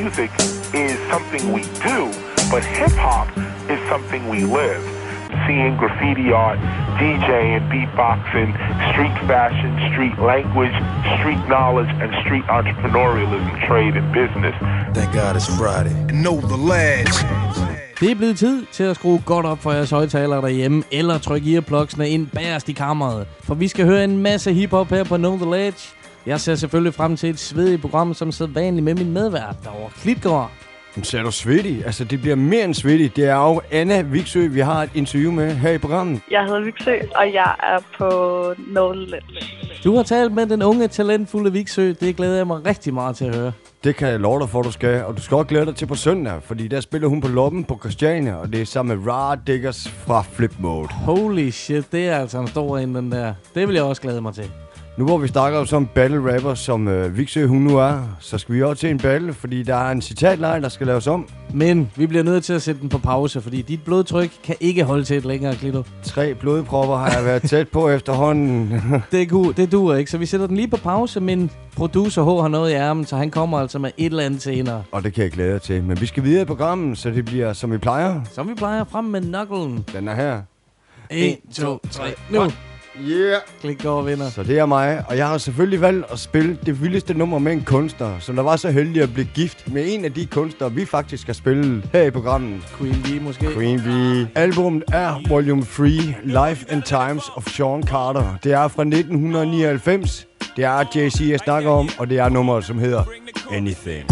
music is something we do, but hip-hop is something we live. Seeing graffiti art, DJing, beatboxing, street fashion, street language, street knowledge, and street entrepreneurialism, trade and business. Thank God it's Friday. And know the lads. Det er blevet tid til at skrue godt op for jeres højtalere derhjemme, eller trykke earplugsene ind bagerst i kammeret. For vi skal høre en masse hiphop her på Know The Ledge. Jeg ser selvfølgelig frem til et svedigt program, som sædvanligt med min medvært derovre, Klitgaard. Så er du svedig? Altså, det bliver mere end svedig. Det er jo Anna Viksø, vi har et interview med her i programmet. Jeg hedder Viksø, og jeg er på Know The Ledge. Du har talt med den unge, talentfulde Viksø. Det glæder jeg mig rigtig meget til at høre. Det kan jeg love dig for, du skal. Og du skal også glæde dig til på søndag, fordi der spiller hun på Loppen på Christiania, og det er sammen med Rara Diggers fra Flip Mode. Holy shit, det er altså en stor en, den der. Det vil jeg også glæde mig til. Nu hvor vi snakker om sådan en battle rapper, som Viksø hun nu er, så skal vi også til en battle, fordi der er en citatleje, der skal laves om. Men vi bliver nødt til at sætte den på pause, fordi dit blodtryk kan ikke holde til et længere, Klito. 3 blodpropper har jeg været tæt på efterhånden. Det duer ikke, så vi sætter den lige på pause, men producer H har noget i ærmen, så han kommer altså med et eller andet senere. Og det kan jeg glæde dig til. Men vi skal videre i programmet, så det bliver som vi plejer. Som vi plejer, frem med knucklen. Den er her. 1, 2, 3, nu! Yeah. Klitgaard vinder. Så det er mig, og jeg har selvfølgelig valgt at spille det vildeste nummer med en kunstner, som der var så heldig at blive gift med en af de kunstnere, vi faktisk skal spille her i programmet. Queen Bee måske. Queen Bee. Albumet er Volume 3, Life and Times of Sean Carter. Det er fra 1999. Det er Jay-Z, jeg snakker om, og det er nummeret, som hedder Anything.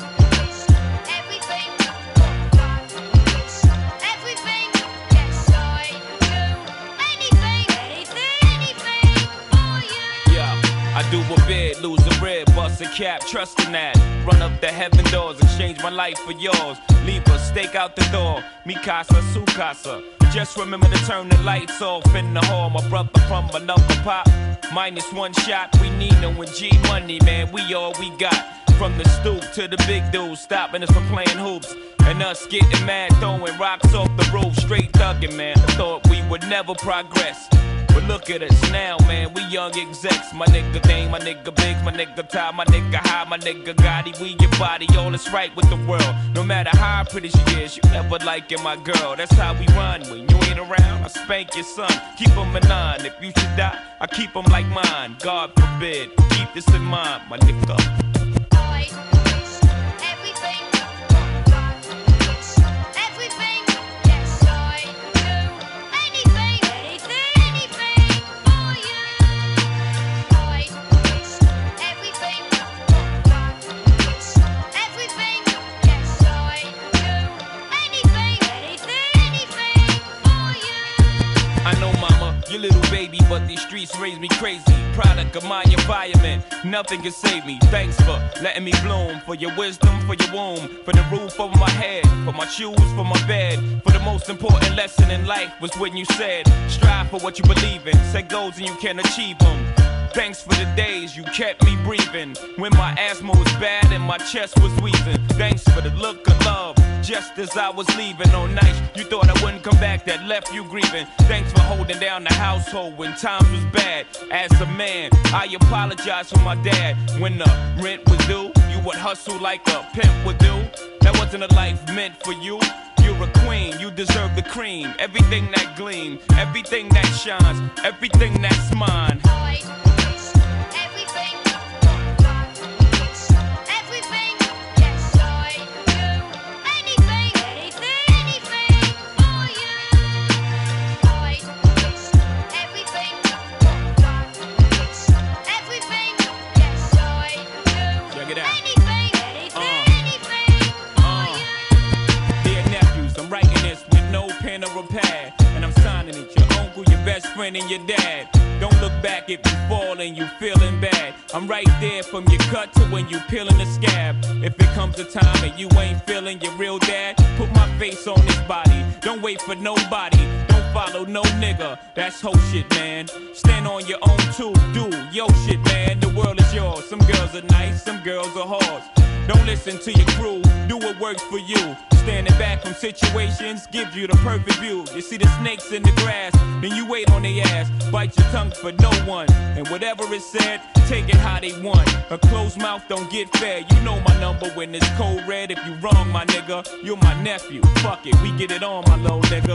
Do a bid, lose a rib, bust a cap, trusting that. Run up the heaven doors, exchange my life for yours. Leave a stake out the door, mi casa, su casa. Just remember to turn the lights off in the hall. My brother from another pop, -1 shot. We need no G money, man, we all we got. From the stoop to the big dudes, stopping us from playing hoops. And us getting mad, throwing rocks off the roof, straight thugging, man. I thought we would never progress. But look at us now, man, we young execs. My nigga Dane, my nigga Biggs, my nigga Ty, my nigga High, my nigga Gotti. We your body, all is right with the world. No matter how pretty she is, you never liking my girl. That's how we run. When you ain't around, I spank your son. Keep him in line. If you should die, I keep him like mine. God forbid. Keep this in mind, my nigga. Your little baby, but these streets raise me crazy. Product of my environment, nothing can save me. Thanks for letting me bloom, for your wisdom, for your womb, for the roof over my head, for my shoes, for my bed. For the most important lesson in life was when you said, strive for what you believe in, set goals and you can achieve them. Thanks for the days you kept me breathing, when my asthma was bad and my chest was wheezing. Thanks for the look of love, just as I was leaving on nights you thought I wouldn't come back, that left you grieving. Thanks for holding down the household when times was bad. As a man, I apologize for my dad. When the rent was due, you would hustle like a pimp would do. That wasn't a life meant for you. You're a queen, you deserve the cream. Everything that gleams, everything that shines, everything that's mine. And your dad. Don't look back if you fall and you feeling bad. I'm right there from your cut to when you peeling the scab. If it comes a time and you ain't feeling your real dad, put my face on this body. Don't wait for nobody. Don't follow no nigga. That's whole shit, man. Stand on your own too. Do yo shit, man. The world is yours. Some girls are nice, some girls are whores. Don't listen to your crew, do what works for you. Standing back from situations gives you the perfect view. You see the snakes in the grass, then you wait on their ass. Bite your tongue for no one, and whatever is said, take it how they want. A closed mouth don't get fed. You know my number when it's cold red. If you wrong, my nigga, you're my nephew. Fuck it, we get it on, my little nigga.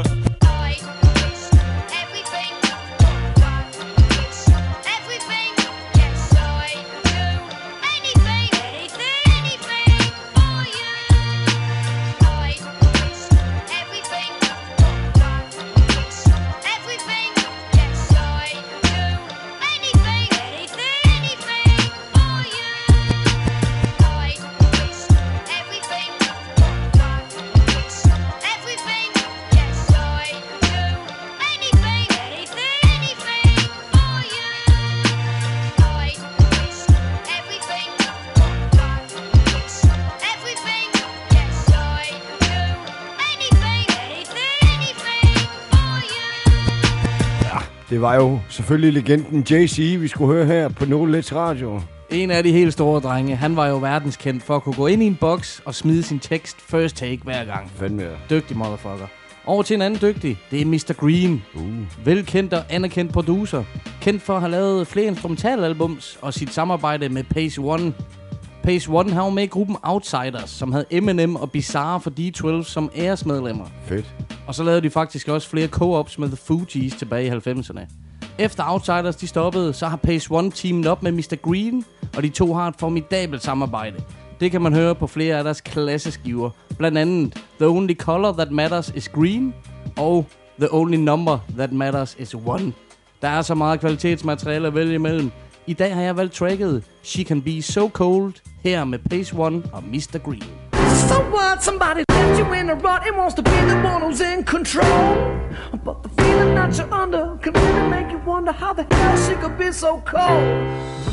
Det var jo selvfølgelig legenden Jay-Z, vi skulle høre her på No Let's Radio. En af de helt store drenge. Han var jo verdenskendt for at kunne gå ind i en boks og smide sin tekst first take hver gang. Fandme. Dygtig motherfucker. Over til en anden dygtig. Det er Mr. Green. Velkendt og anerkendt producer. Kendt for at have lavet flere instrumentalalbums og sit samarbejde med Pace One. Pace One har jo med i gruppen Outsiders, som havde Eminem og Bizarre for D12 som æresmedlemmer. Fedt. Og så lavede de faktisk også flere co-ops med The Fugees tilbage i 90'erne. Efter Outsiders de stoppede, så har Pace One teamet op med Mr. Green, og de to har et formidabelt samarbejde. Det kan man høre på flere af deres klasseskiver. Blandt andet The Only Color That Matters Is Green og The Only Number That Matters Is One. Der er så meget kvalitetsmateriale at vælge imellem. I dag har jeg valgt tracket She Can Be So Cold her med Pace One og Mr. Green. So what? Somebody left you in a rut and wants to be the one who's in control. But the feeling that you're under can really make you wonder how the hell she could be so cold.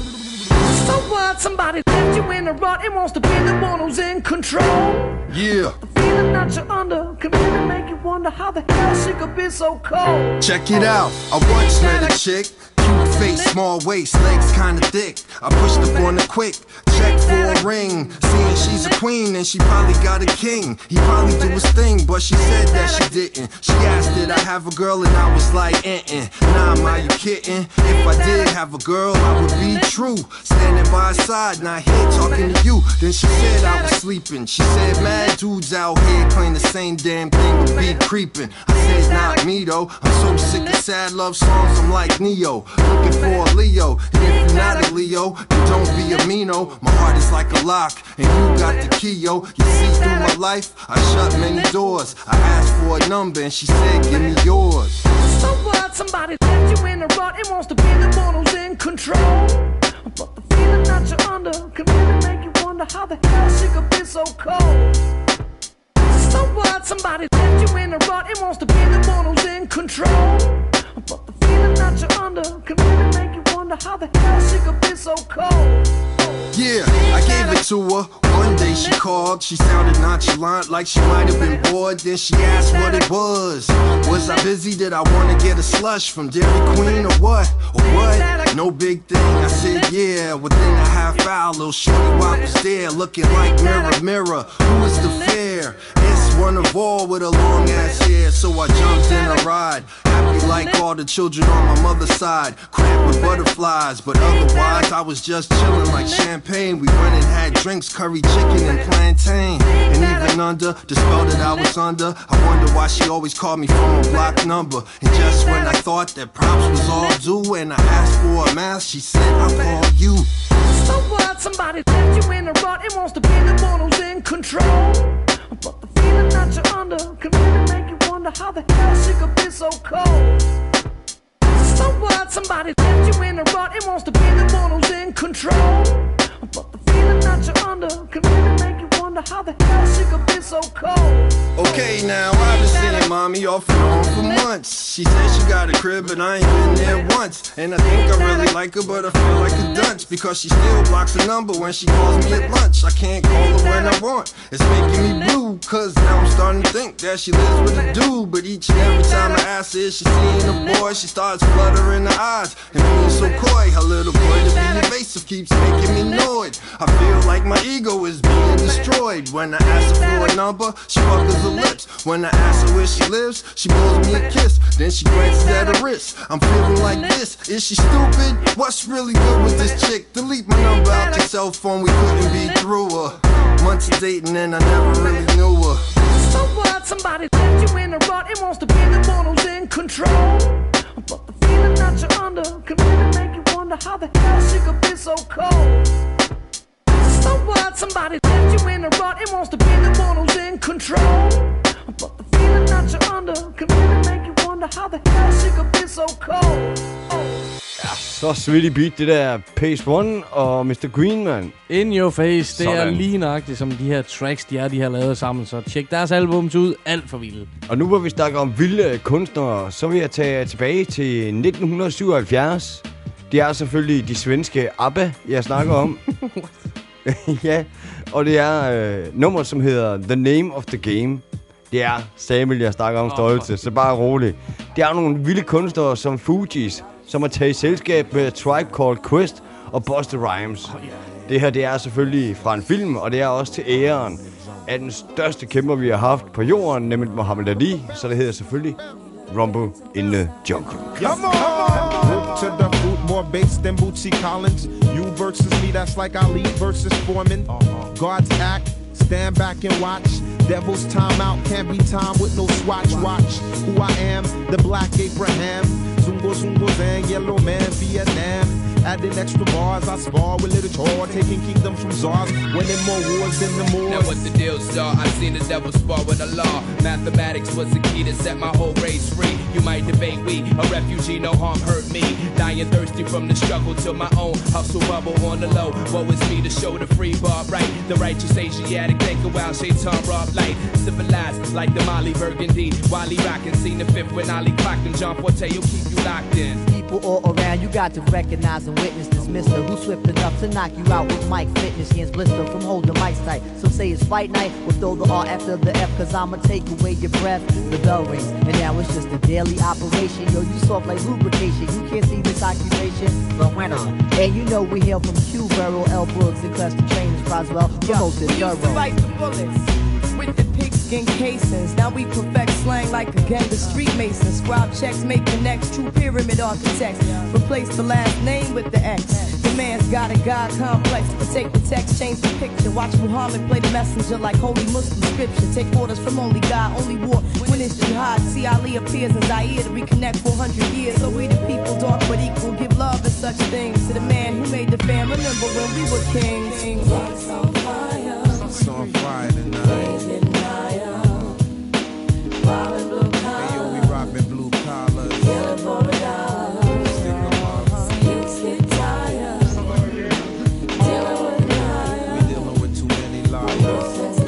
So what? Somebody left you in a rut and wants to be the one who's in control. Yeah. The feeling that you're under can really make you wonder how the hell she could be so cold. Check it out. I once met a chick. Cute face, small waist, legs kinda thick. I pushed up on her quick. Check for a ring. Seeing she's a queen and she probably got a king. He probably do his thing, but she said that she didn't. She asked did I have a girl and I was like, Nah, ma, you kidding? If I did have a girl, I would be true. Standing by her side, not here talking to you. Then she said I was sleeping. She said mad dudes out here claim the same damn thing would be creeping. I said not me though. I'm so sick of sad love songs, I'm like Neo. Looking for a Leo, and if you're not a Leo, then don't be a Mino. My heart is like a lock, and you got the key, yo. You see through my life, I shut many doors. I asked for a number, and she said, give me yours. So what? Somebody left you in a rut and wants to be the one who's in control. But the feeling that you're under can really make you wonder how the hell she could be so cold. So what? Somebody left you in a rut and wants to be the one who's in control. But the feeling that you're under can really make you wonder how the hell she could be so cold. Yeah, I gave it to her. One day she called, she sounded nonchalant like she might have been bored. Then she asked what it was. Was I busy? Did I want to get a slush from Dairy Queen or what? Or what? No big thing. I said yeah. Within a half hour, little shorty wop was there, looking like mirror, mirror. Who is the fair? It's one of all with a long ass hair. So I jumped in a ride, happy like all the children on my mother's side, cramped with butterflies. But otherwise, I was just chilling like champagne. We went and had drinks, curry chicken and plantain. And even under the spell that I was under, I wonder why she always called me from a block number. And just when I thought that props was all due and I asked for a mask, she said, I'll call you. So what? Somebody left you in a rut and wants to be the one who's in control. But the feeling that you're under can really make you wonder how the hell she could be so cold. So what? Somebody left you in a rut and wants to be the one who's in control. But the feeling that you're under can really make you wonder how the hell she could be so cold. Okay, now I've been seeing mommy off and on for months. She said she got a crib, but I ain't been there once. And I think I really like her, but I feel like a dunce because she still blocks the number when she calls me at lunch. I can't call her when I want. It's making me blue, cause now I'm starting to think that she lives with a dude. But each and every time I ask her if she's seeing a boy, she starts fluttering her eyes and being so coy. Her little boy to be evasive. persuasive keeps making me annoyed. I feel like my ego is being destroyed. When I ask her for a number, she puckers her lips. When I ask her where she lives, she blows me a kiss. Then she glances at her wrist. I'm feeling like this. Is she stupid? What's really good with this chick? Delete my number out your cell phone, we couldn't be through her. Months of dating and I never really knew her. So what? Somebody left you in a rut and wants to be the one who's in control. But the feeling that you're under can really make you wonder how the hell she could be so cold. So what? Somebody left you in a rut and wants to be the one who's in control. But the feeling that you're under can really make you wonder how the hell she could be so cold. Så sweetie beat, det der Pace One og Mr. Green, man. In Your Face, det Sådan. er lige nøjagtigt som de her tracks, de har lavet sammen. Så tjek deres albums ud, alt for vildt. Og nu hvor vi snakker om vilde kunstnere, så vil jeg tage tilbage til 1977. Det er selvfølgelig de svenske ABBA, jeg snakker om. Ja, og det er nummer, som hedder The Name of the Game. Det er Samuel, jeg snakker om stolte, så bare rolig. Det er nogle vilde kunstnere som Fugees, som har taget i selskab med Tribe Called Quest og Busta Rhymes. Det her, det er selvfølgelig fra en film, og det er også til æren af den største kæmper, vi har haft på jorden, nemlig Muhammad Ali. Så det hedder selvfølgelig Rumble in the Jungle. Come on! To the fruit, more bass than Bootsy Collins. You versus me, that's like Ali versus Foreman. God's act, stand back and watch. Devil's timeout, can't be timed with no swatch. Watch who I am, the Black Abraham. Zungo Zungo Zang, Yellow Man, Vietnam. Adding extra bars, I spar with little chore, taking kingdoms from czars, winning more wars than the Moors. Now what the deal, star? I seen the devil spar with the law. Mathematics was the key to set my whole race free. You might debate we, a refugee, no harm hurt me. Dying thirsty from the struggle to my own hustle bubble on the low. Woe is me to show the free bar right. The righteous Asiatic, think a while, Shaitan rob light. Civilized like the Molly Burgundy. Wally rockin', seen the fifth when Ali clocked and John Forte, you'll keep you locked in. People all around, you got to recognize and witness this mister who's swift enough to knock you out with mic fitness. Hands blister from holding mics tight. Some say it's fight night, we'll throw the R after the F, cause I'ma take away your breath. The bell rings, and now it's just a daily operation. Yo, you soft like lubrication, you can't see this occupation, but when on. And you know we hail from Q, Burrow, L. Brooks, and Cluster Trainers, Croswell, promoted We used to write the bullets with the pigskin casings. Now we perfect slang like a gang of street masons. Scribe checks, make connects, true pyramid architects. Replace the last name with the X. The man's got a God complex. Take the text, change the picture. Watch Muhammad play the messenger like holy Muslim scripture. Take orders from only God, only war when it's jihad. See Ali appears in Zaire to reconnect 400 years. So we the people, dark but equal, give love and such things to the man who made the fam. Remember when we were kings. It's on fire tonight. Hey yo, we rockin' blue collars. Stick 'em up. We dealing with too many liars.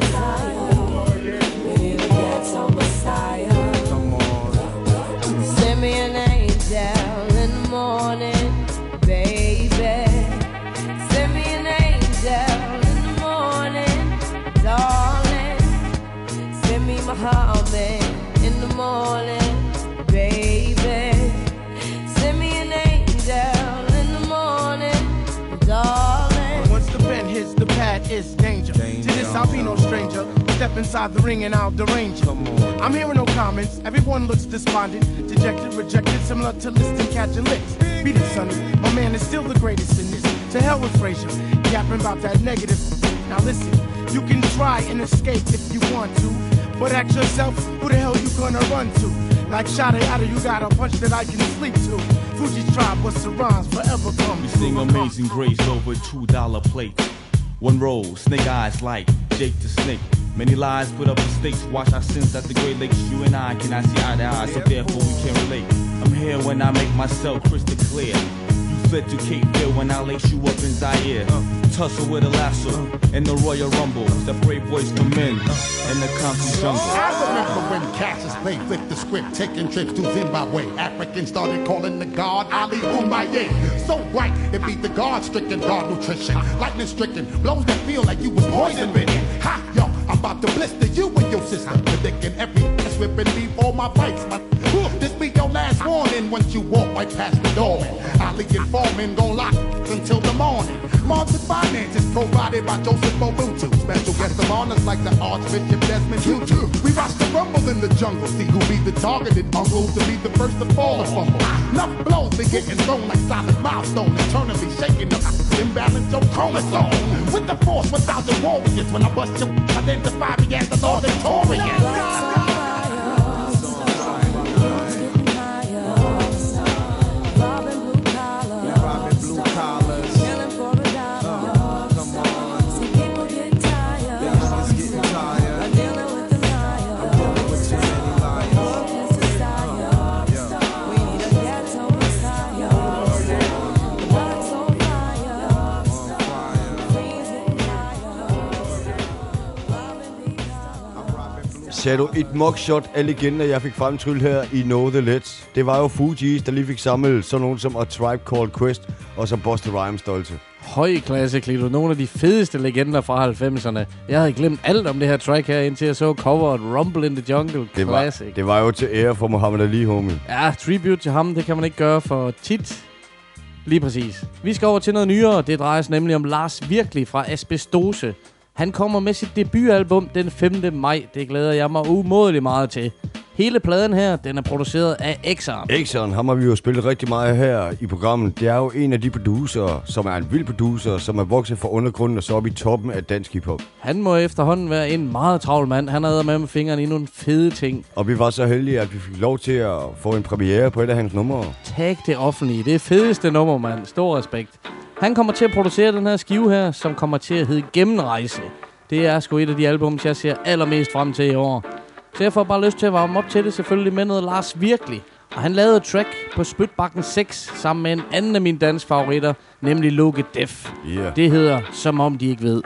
Come on. Send me an angel in the morning, baby. Send me an angel in the morning, darling. Send me Muhammad in the morning, baby. Send me an angel in the morning, darling. Once the pen hits the pad, it's danger. To this, I'll be no stranger. Step inside the ring and I'll derange you. I'm hearing no comments. Everyone looks despondent, dejected, rejected, similar to listing catching licks. Beat it, sonny. My man is still the greatest in this. To hell with Frazier, yapping about that negative. Now listen, you can try and escape if you want to, but ask yourself, who the hell you gonna run to? Like Shada Yada, you got a punch that I can sleep to. Fuji's tribe, what's the rhymes forever come. We sing Amazing Grace over $2 plates. One roll, snake eyes like Jake the Snake. Many lies put up the stakes. Watch our sins at the Great Lakes. You and I cannot see eye to eye, so therefore we can't relate. I'm here when I make myself crystal clear. You fled to Cape Fear when I lace you up in Zaire. Tussle with a lasso in the Royal Rumble. The brave boys come in the concrete jungle. I remember when Cassius Clay flipped the script, taking trips to Zimbabwe. Africans started calling the god Ali Umaye. So right, it beat the God-stricken, God nutrition. Lightning-stricken, blows that feel like you was poison-ridden. Ha, yo, I'm about to blister you and your sister. Predicting every slipping before my bites. This be your last warning once you walk right past the door. Molly and Foreman gon' lock until the morning. Market finances provided by Joseph Mobutu. Special guests of honors like the Archbishop Desmond Tutu. We watch the rumble in the jungle, see who be the targeted uncle to be the first to fall or fumble. Enough blows be getting thrown like solid milestone, eternally shaking up imbalance your chromosome. With the force, without the warriors, when I bust you, identify me as the Lord Victorious. Sagde du et mugshot af legender, jeg fik fremtryllet her i Know The Ledge? Det var jo Fugees, der lige fik samlet sådan nogen som A Tribe Called Quest og så Busta Rhymes stolte. Høj klasse, Klito. Nogle af de fedeste legender fra 90'erne. Jeg havde glemt alt om det her track her, indtil jeg så coveret Rumble in the Jungle Classic. Det var jo til ære for Muhammad Ali, homie. Ja, tribute til ham, det kan man ikke gøre for tit. Lige præcis. Vi skal over til noget nyere. Det drejer sig nemlig om Lars Virkelig fra Asbestose. Han kommer med sit debutalbum den 5. maj. Det glæder jeg mig umådeligt meget til. Hele pladen her, den er produceret af Exxon. Exxon, ham har vi jo spillet rigtig meget her i programmet. Det er jo en af de producer, som er en vild producer, som er vokset fra undergrunden og så op i toppen af dansk hiphop. Han må efterhånden være en meget travl mand. Han har med fingrene i nogle fede ting. Og vi var så heldige, at vi fik lov til at få en premiere på et af hans numre. Tag det offentlige. Det er fedeste nummer, mand. Stor respekt. Han kommer til at producere den her skive her, som kommer til at hedde Gennemrejse. Det er sgu et af de albums, jeg ser allermest frem til i år. Så jeg får bare lyst til at varme op til det, selvfølgelig med noget Lars Virkelig. Og han lavede et track på Spytbakken 6 sammen med en anden af mine danske favoritter, nemlig Loke Def. Yeah. Det hedder Som om de ikke ved.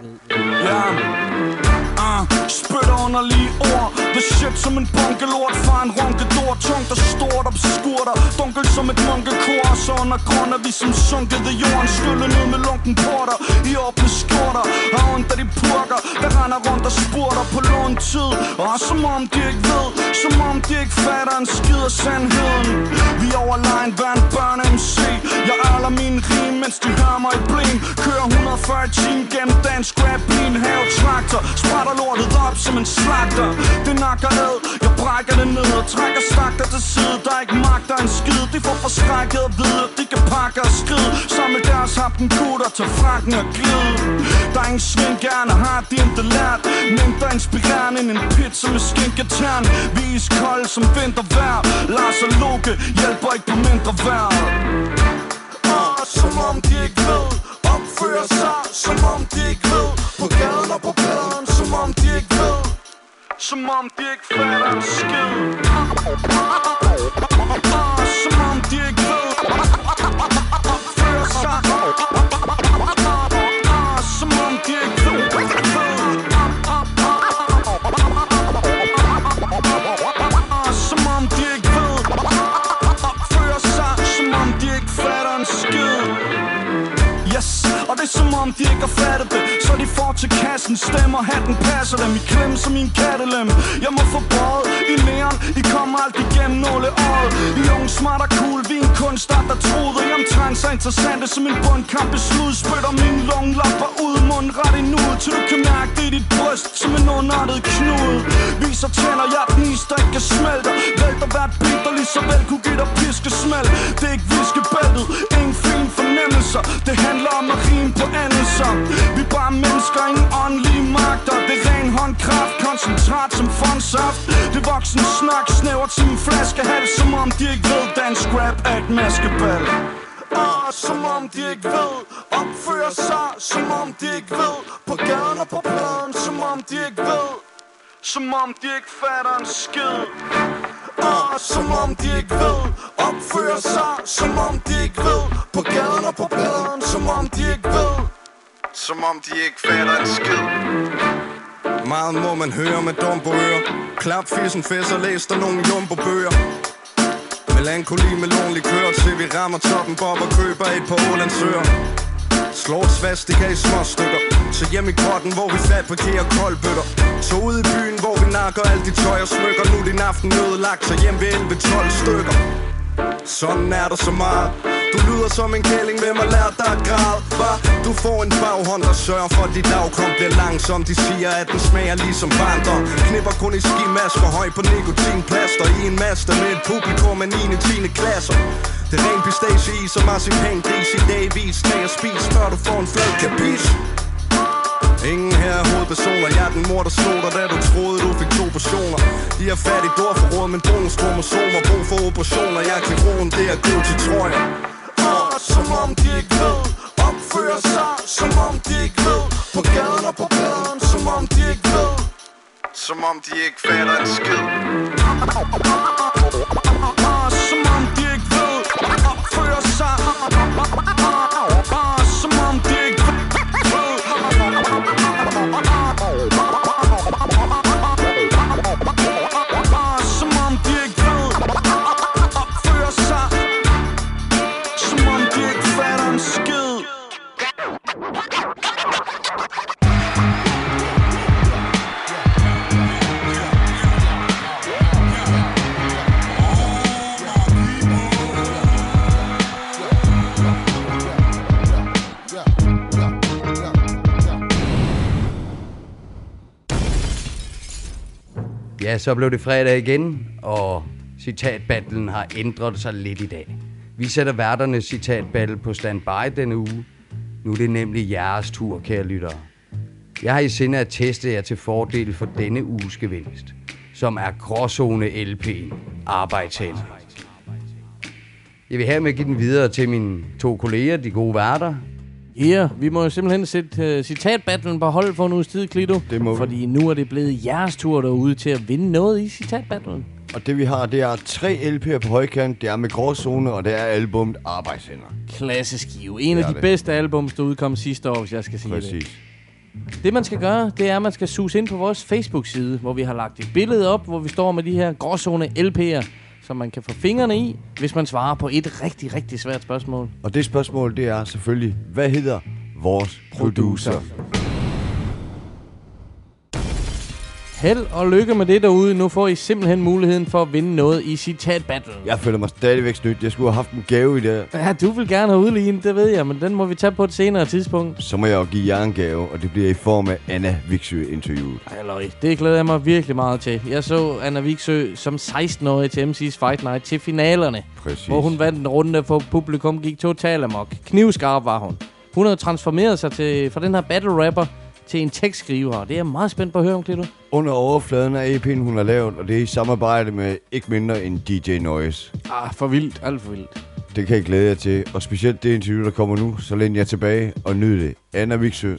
Spytter underlige ord. The shit som en bunkelort fra en ronkedor. Tungt og stort og beskurter. Dunkel som et munkekor. Så under grund er vi som sunket i jorden. Skylle ned med lunken porter i åbne skjorter. Og under de purker, der render rundt og spurter på lån tid. Og som om de ikke ved, som om de ikke fatter en skid af sandheden. Vi overlegen hver en børne-MC. Jeg ærler mine rim, mens de hører mig i bling. Kører 140 timer gennem dansk rap i en havetraktor. Sprætter lortet op som en slagter. Det nakker ad, jeg brækker det ned og trækker stakter til side. Der ikke magter en skid. De får forskrækket at vide, at de kan pakke og skride. Samle deres happen gutter til frakken og glide. Der er ingen svingerne, har de ikke lært. Mindre inspirerende end en pizza med skinketern. Vi er iskolde som vintervejr. Lars og Loke hjælper ikke på mindre vejr. Som om de ikke ved. Opfører sig, som om de ikke ved. På gaden og på pladen, som om de ikke ved. Som om de ikke fatter en skid. Som om de ikke ved. Opfører sig. Som om de ikke ved. Som om de ikke ved. Opfører sig, som om de ikke fatter en skid. Yes, og det er som om de ikke har fattet det. Så de får til kassen, stemmer, hatten passer dem. I klemme som i en kattelem. Jeg må få brød i næren. I kommer aldrig igennem nåleøjet. I unge, smart og cool, vi er en kunstart, der troede. Jeg omtegn så interessante som en bundkamp i slud. Spytter mine lungelapper ud, munden ret i nuet. Til du kan mærke det i dit bryst, som en underartet knude. Viser tænder, jeg er den is, der ikke kan smelte. Vælter hvert beat, der lige så vel kunne give dig piskesmæld. Det er ikke viskebæltet, ingen fin fornemmelser. Det handler om at rime på endelser. Vi er bare mennesker, ingen åndelige magter. Det er ren håndkraft, koncentrat som fondsaft. Det voksen snak, snævert som en flaskehals. Som om de ikke ved, dansk rap er et maskebal. Som om de ikke ved. Opfører sig, som om de ikke ved. På gaden og på pladen, som om de ikke ved. Som om de ikke fatter en skid. Som om de ikke ved. Opfører sig, som om de ikke ved. På gaden og på pladen, som om de ikke ved. Som om de ikke fatter en skid. Meget må man høre med dumbo ører. Klap fissen fæs og læs der nogle jumbo-bøger. Melankoli med lonlig kør, til vi rammer toppen bob og køber et par Ålandsøer. Slår et svastika i små stykker. Så hjem i grotten, hvor vi fabrikerer koldbøtter. Så ud i byen, hvor vi nakker alt de tøj og smykker. Nu din aften ødelagt, så hjem ved 11-12 stykker. Sådan er der så meget. Du lyder som en kælling, hvem har lært dig at græde? Hva? Du får en baghånd, der sørger for, at dit afkom bliver langsom. De siger, at den smager ligesom barndom. Knipper kun i skimasker, høj på nikotinplaster. I en master med et publikum af 9. og 10. klasser. Det er ren pistache-is og marcipan gris i dagvis. Tag og spis, før du får en flad kapis. Ingen her er hovedpersoner. Jeg er den mor, der slog dig, da du troede, du fik 2 portioner. De har fat i dårforråd, men bonuskromosomer. Brug for operationer. Jeg er kirurgen, det er god til trøjer. Som om de ikke ved. Opfører sig, som om de ikke ved. På gaden og på gaden, som om de ikke ved. Som om de ikke fatter en skid. Som om de ikke ved. Opfører sig, som om de ikke ved. Som om de ikke ved. Opfører sig, som om de ikke fatter en skid. Ja, så blev det fredag igen, og citatbattlen har ændret sig lidt i dag. Vi sætter værternes citatbattle på standby denne uge. Nu er det nemlig jeres tur, kære lyttere. Jeg har i sinde at teste jer til fordel for denne uges gevinst, som er Gråzone LP'en Arbejdshænder. Jeg vil hermed give den videre til mine 2 kolleger, de gode værter. Ja, vi må jo simpelthen sætte citatbattlen på hold for en uges tid, Klito. Det må vi. Fordi nu er det blevet jeres tur derude til at vinde noget i citatbattlen. Og det vi har, det er 3 LP'er på højkant, det er med Gråzone, og det er albumet Arbejdshænder. Klassisk skive. En af de bedste albums, der udkom sidste år, hvis jeg skal sige Præcis. det. Det man skal gøre, det er, at man skal suge ind på vores Facebook-side, hvor vi har lagt et billede op, hvor vi står med de her Gråzone LP'er, som man kan få fingrene i, hvis man svarer på et rigtig, rigtig svært spørgsmål. Og det spørgsmål, det er selvfølgelig, hvad hedder vores producer? Held og lykke med det derude. Nu får I simpelthen muligheden for at vinde noget i citatbattlen. Jeg føler mig stadigvæk snydt. Jeg skulle have haft en gave i det. Ja, du vil gerne have udlignet, det ved jeg, men den må vi tage på et senere tidspunkt. Så må jeg jo give jer en gave, og det bliver i form af Anna Viksø-interviewet. Halløj, det glæder jeg mig virkelig meget til. Jeg så Anna Viksø som 16-årig til MC's Fight Night til finalerne. Præcis. Hvor hun vandt en runde, for publikum gik totalt amok. Knivskarp var hun. Hun havde transformeret sig fra den her battle rapper til en tekstskriver. Det er jeg meget spændt på at høre om, Klito. Under overfladen af EP'en, hun har lavet, og det er i samarbejde med ikke mindre end DJ Noise. For vildt. Alt for vildt. Det kan jeg glæde jer til, og specielt det interview, der kommer nu, så læn jer tilbage og nyd det. Anna Viksø.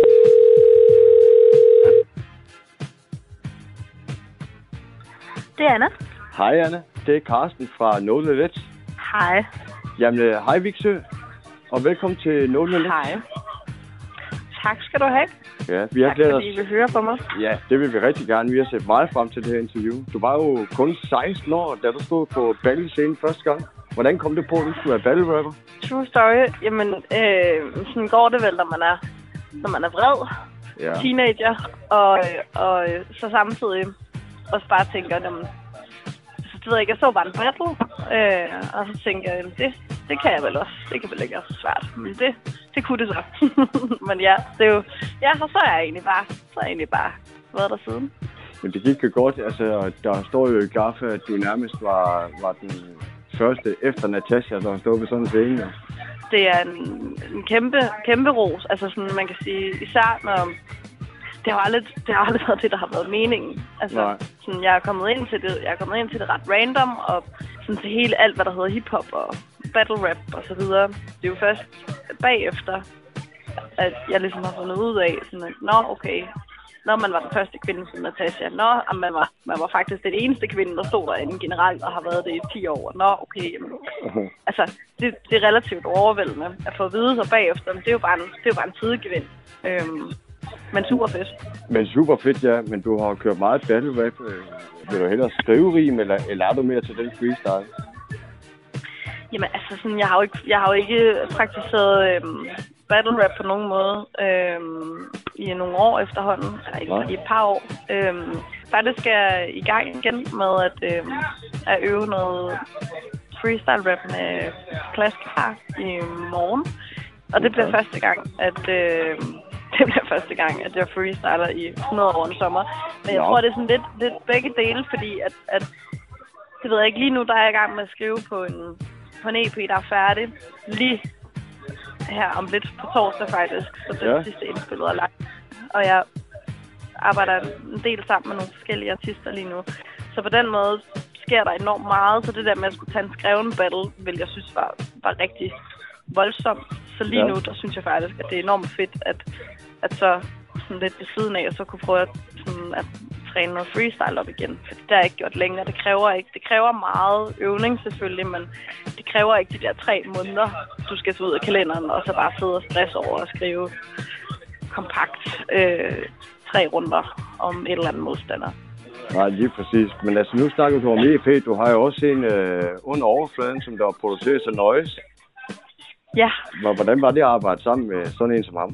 Det er Anna. Hej Anna, det er Carsten fra No Limits. Hej. Jamen, hej Viksø, og velkommen til No Limits. Hej. Tak skal du have. Ja, vi har tak glædet os. fordi I vil høre på mig. Ja, det vil vi rigtig gerne. Vi har set meget frem til det her interview. Du var jo kun 16 år, da du stod på battle-scenen første gang. Hvordan kom det på, at du skulle være battle-rapper? True story. Jamen, sådan går det vel, når man er vred. Ja. Teenager. Og så samtidig også bare tænker, jamen, det ved jeg ikke, jeg så bare en battle. Og så tænker jeg, det kan jeg vel også. Det kan vel ikke være så svært. Men det kunne det så. Men ja, det er jo... Ja, og så er jeg egentlig bare været der siden. Men det gik jo godt. Altså, der står jo i Gaffe, at du nærmest var den første efter Natasha, der stod på sådan en scene. Det er en kæmpe ros. Altså sådan, man kan sige, især når... Det har aldrig været det, der har været meningen. Altså, sådan, jeg er kommet ind til det ret random, og sådan til hele alt, hvad der hedder hiphop og battle rap og så videre. Det er jo først bagefter, at jeg ligesom har fundet ud af, sådan at, okay, når man var den første kvinde som Natasha, man var faktisk den eneste kvinde, der stod derinde generelt, og har været det i 10 år. Okay, jamen, altså, det er relativt overvældende at få at vide sig bagefter, men det er jo bare en sidegevind. Men super fedt. Men super fedt, ja. Men du har kørt meget battle rap. Vil du hellere skrive rim, eller er du mere til den freestyle? Jamen altså, sådan, jeg har jo ikke praktiseret battle rap på nogen måde i nogle år efterhånden. Eller i et par år. Faktisk er jeg i gang igen med at øve noget freestyle rap med Plaskar i morgen. Og det bliver første gang, at jeg freestyler i 100 år en sommer. Men jeg tror, det er sådan lidt begge dele, fordi at det ved jeg ikke, lige nu der er jeg i gang med at skrive på en EP, der er færdig lige her om lidt på torsdag faktisk. Så det er sidste indspillet er lagt. Og jeg arbejder en del sammen med nogle forskellige artister lige nu. Så på den måde sker der enormt meget, så det der med at skulle tage en skreven battle, vil jeg synes var rigtig voldsomt. Så lige nu, der synes jeg faktisk, at det er enormt fedt, at så sådan lidt ved siden af, og så kunne prøve at træne noget freestyle op igen. For det har jeg ikke gjort længere. Det kræver meget øvning selvfølgelig, men det kræver ikke de der 3 måneder, du skal tage ud af kalenderen, og så bare sidde og stresse over at skrive kompakt 3 runder om et eller andet modstander. Nej, lige præcis. Men altså, nu snakker du om EP. Du har jo også en under overfladen, som der er produceret så Noise. Ja. Hvordan var det at arbejde sammen med sådan en som ham?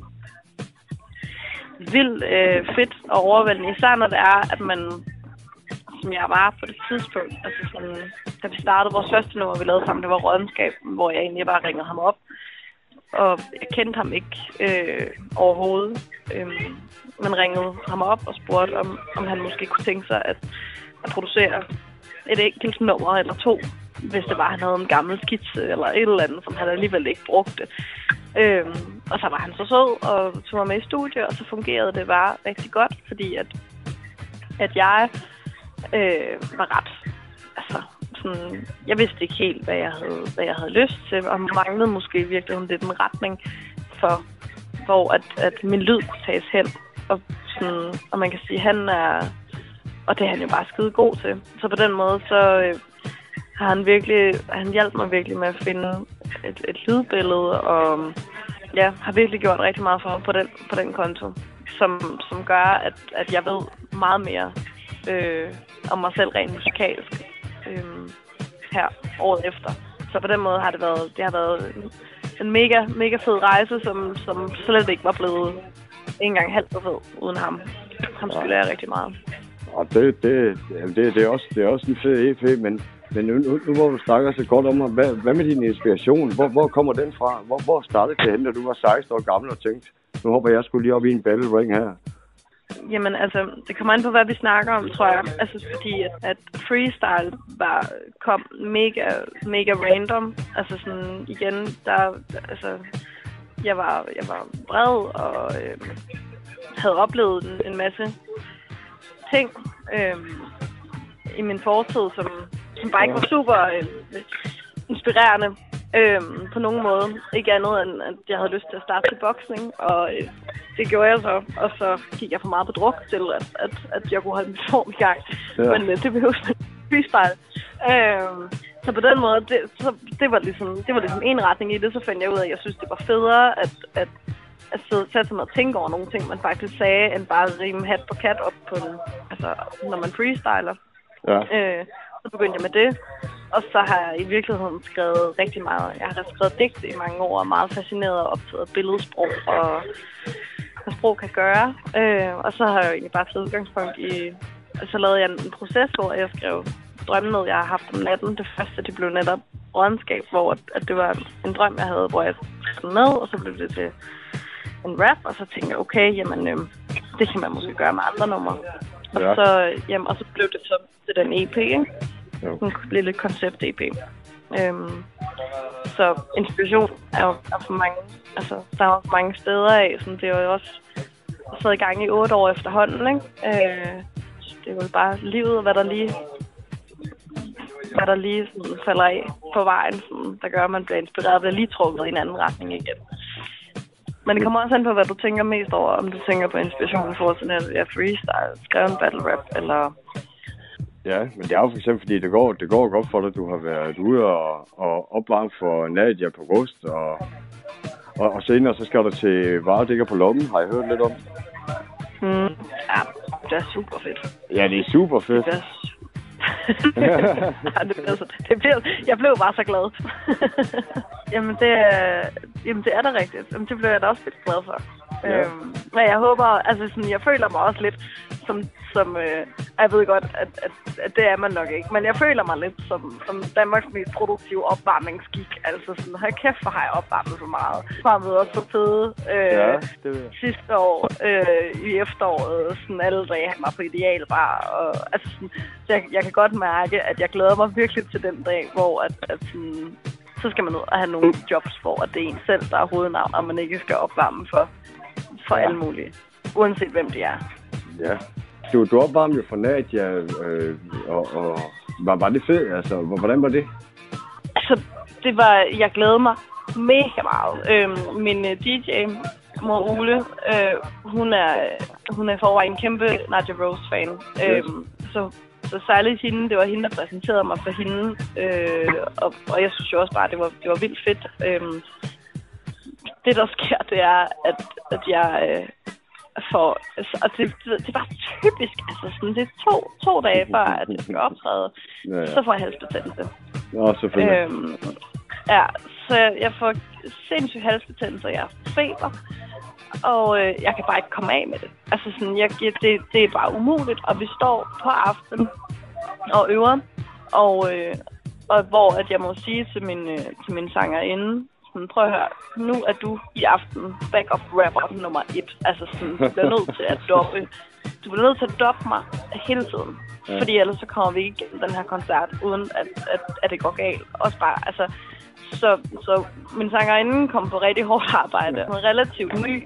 Vildt fedt og overvældende. Især når det er, at man, som jeg var på det tidspunkt, altså sådan, da vi startede vores første nummer, vi lavede sammen, det var Rådenskab, hvor jeg egentlig bare ringede ham op. Og jeg kendte ham ikke overhovedet, men ringede ham op og spurgte, om han måske kunne tænke sig at producere et enkelt nummer eller 2, hvis det var, han havde en gammel skitse eller et eller andet, som han alligevel ikke brugte. Og så var han så sød og tog mig med i studiet, og så fungerede det bare rigtig godt, fordi at jeg var ret, altså sådan, jeg vidste ikke helt, hvad jeg havde lyst til, og manglede måske virkelig lidt en retning for, hvor at min lyd kunne tages hen, og man kan sige, og det er han jo bare skide god til. Så på den måde, så han hjalp mig virkelig med at finde et lydbillede, og ja, har virkelig gjort rigtig meget for på den konto, som gør, at jeg ved meget mere om mig selv rent musikalsk her året efter. Så på den måde har det har været en mega, mega fed rejse, som slet ikke var blevet engang halvt så fed uden ham. Ham skylder jeg rigtig meget. Og det er også en fed EP, men nu hvor du snakker så godt om, hvad med din inspiration? Hvor kommer den fra? Hvor startede det hen, da du var 16 år gammel og tænkte, nu håber jeg skulle lige op i en battle ring her? Jamen altså, det kommer an på, hvad vi snakker om, tror jeg. Altså fordi, at freestyle kom mega random. Altså sådan, igen, jeg var bred og havde oplevet en masse ting i min fortid, som bare ikke var super inspirerende på nogen måde. Ikke andet end, at jeg havde lyst til at starte til boksning, og det gjorde jeg så. Og så gik jeg for meget på druk til, at jeg kunne holde min form i gang. Ja. Men det behøves freestyle. Så på den måde, det var ligesom en retning i det. Så fandt jeg ud af, at jeg synes, det var federe at sætte sig med at tænke over nogle ting, man faktisk sagde, end bare at rime hat på kat op på den, altså når man freestyler. Ja. Så begyndte jeg med det, og så har jeg i virkeligheden skrevet rigtig meget. Jeg har skrevet digte i mange år, og er meget fascineret og optaget af billedsprog, og hvad sprog kan gøre. Og så har jeg jo egentlig bare taget udgangspunkt i, så lavede jeg en proces, hvor jeg skrev drømme, jeg har haft om natten. Det første, det blev netop Rådenskab, hvor at det var en drøm, jeg havde, hvor jeg skrev med, og så blev det til en rap, og så tænkte jeg, okay, jamen, det kan man måske gøre med andre numre. Ja. Og så blev det så til den EP, ikke? Ja. Den blev lidt koncept-EP. Så inspiration er jo for mange, altså, der er jo mange steder af, sådan, det er jo også sad i gang i 8 år efterhånden, ikke? Det er jo bare livet, og hvad der lige sådan, falder af på vejen, sådan, der gør, at man bliver inspireret og bliver lige trukket i en anden retning igen. Men det kommer også an på, hvad du tænker mest over, om du tænker på inspiration for sådan en freestyle, skrevet battle rap, eller... Ja, men det er jo for eksempel, fordi det går godt for dig, du har været ude og opvarme for Nadia på Rust, og senere så skal du til Varedækker på Lommen, har jeg hørt lidt om? Ja, det er super fedt. Ja, det er super fedt. Jeg blev bare så glad. Jamen det er da rigtigt. Jamen, det blev jeg da også lidt glad for. Ja. Men jeg håber, altså sådan, jeg føler mig også lidt jeg ved godt, at det er man nok ikke. Men jeg føler mig lidt som Danmarks mest produktive opvarmningsgik. Altså sådan, hold kæft, for har jeg opvarmet så meget. Varmede også på fede sidste år i efteråret. Sådan alle dage han var på Idealbar. Og, altså sådan, så jeg kan godt mærke, at jeg glæder mig virkelig til den dag, hvor at sådan, så skal man ud og have nogle jobs, hvor det er en selv, der er hovednavn, og man ikke skal opvarme for alle mulige. Uanset hvem de er. Ja. Du opvarmede jo for Nadia, og var det fedt? Altså, hvordan var det? Altså, jeg glædede mig mega meget. Min DJ, mor Ole, hun er i forvejen en kæmpe Nadia Rose-fan. Så særligt hende, det var hende, der præsenterede mig for hende. Og jeg synes jo også bare, det var vildt fedt. Det, der sker, det er, at jeg... og det var typisk, altså sådan, det er to dage før, at jeg skal optræde, så får jeg halsbetændelse. Selvfølgelig. Så jeg får sindssygt halsbetændelse, jeg har feber, og jeg kan bare ikke komme af med det. Altså sådan, det er bare umuligt, og vi står på aftenen og øver, og hvor at jeg må sige til min sangerinde, prøv at høre, nu er du i aften backup rapper nummer 1. Altså sådan, du bliver nødt til at doppe. Du bliver nødt til at doppe mig hele tiden. Ja. Fordi ellers så kommer vi ikke igennem den her koncert, uden at det går galt. Også bare, altså... Så min sangerinde kom på rigtig hårdt arbejde. Hun er relativt ny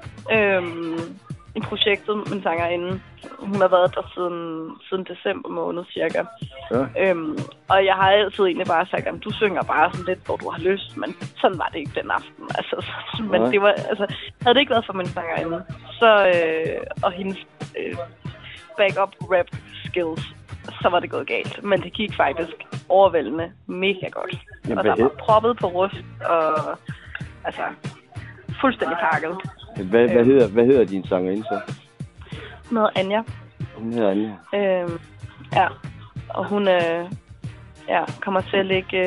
i projektet, min sangerinde. Hun har været der siden december måned cirka. Ja. Og jeg har altid egentlig bare sagt, at du synger bare sådan lidt, hvor du har lyst. Men sådan var det ikke den aften. Altså, men det var, altså, havde det ikke været for min sangerinde, og hendes backup rap skills, så var det gået galt. Men det gik faktisk overvældende mega godt. Og der var proppet på rust, og altså fuldstændig pakket. Hvad hedder din sangerinde så? Hun hedder Anja. Hun hedder Anja. Ja, og hun kommer til at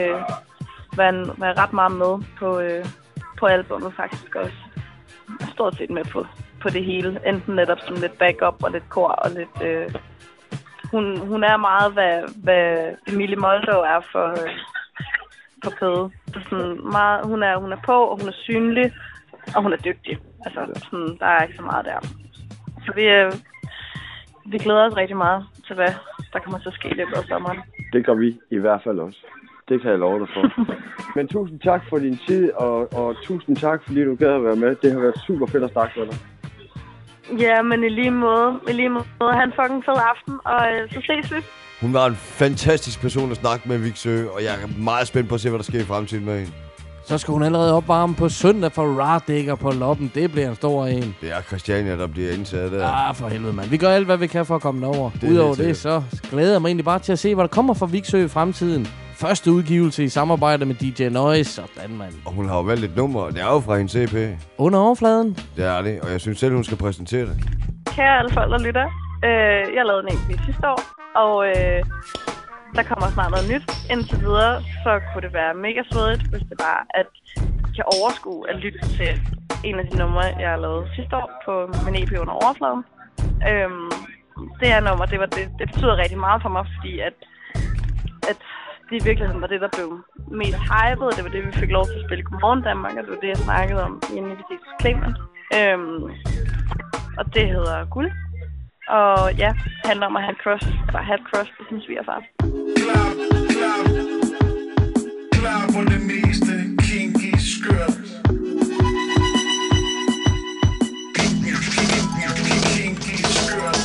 være ret meget med på albumet faktisk også. Stort set med på det hele. Enten netop som lidt backup og lidt kor og lidt... Hun er meget, hvad Emilie Moldow er for Pede. Sådan meget, hun er på, og hun er synlig, og hun er dygtig. Altså, sådan, der er ikke så meget der. Så vi glæder os rigtig meget til, hvad der kommer til at ske i løbet af sommeren. Det gør vi i hvert fald også. Det kan jeg love dig for. Men tusind tak for din tid, og tusind tak, fordi du gad at være med. Det har været super fedt at snakke med dig. Ja, men i lige måde. Ha' en fucking fed aften, og så ses vi. Hun var en fantastisk person at snakke med, Viksø, og jeg er meget spændt på at se, hvad der sker i fremtiden med hende. Så skal hun allerede opvarme på søndag for Radegger på Loppen. Det bliver en stor en. Det er Christiania, der bliver indsat der. For helvede, mand. Vi gør alt, hvad vi kan for at komme derover. Udover det, så glæder jeg mig egentlig bare til at se, hvad der kommer fra Viksø i fremtiden. Første udgivelse i samarbejde med DJ Noise. Sådan, mand. Og hun har jo valgt et nummer. Det er jo fra hendes CP. Under overfladen. Det er det, og jeg synes selv, hun skal præsentere det. Kære alle folk, der lytter. Jeg lavede en EP sidste år, og der kommer snart noget nyt. Indtil videre, så kunne det være mega svedigt, hvis det var, at jeg kan overskue at lytte til en af de numre, jeg har lavet sidste år på min EP Under overfladen. Det her nummer, det betyder rigtig meget for mig, fordi at det i virkeligheden var det, der blev mest hypet. Det var det, vi fik lov til at spille Godmorgen Danmark, og det var det, jeg snakkede om i en invitation til Clement. Og det hedder Guld. Og ja, det handler om at have et crush på sin svigerfar. Klar på det meste, kinky skørt. Kinky skørt.